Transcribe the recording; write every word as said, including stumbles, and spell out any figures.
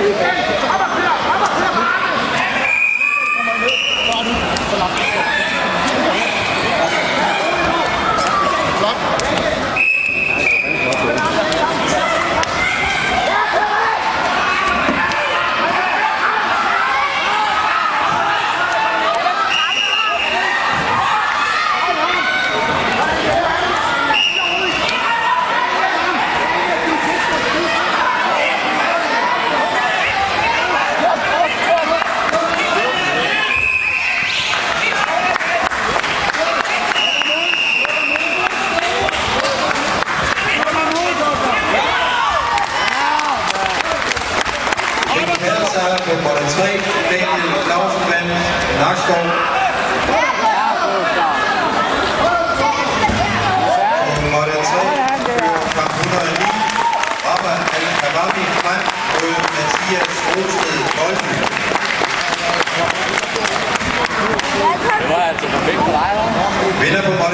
Nummer tre, Daniel Clausenmann, Nakskov. Nummer tre, kamp et hundrede og ni, Rabba Al-Khawabi frem mod Mathias Rosted Bolden. Det var altså perfekt for dig, hva'? Vinder på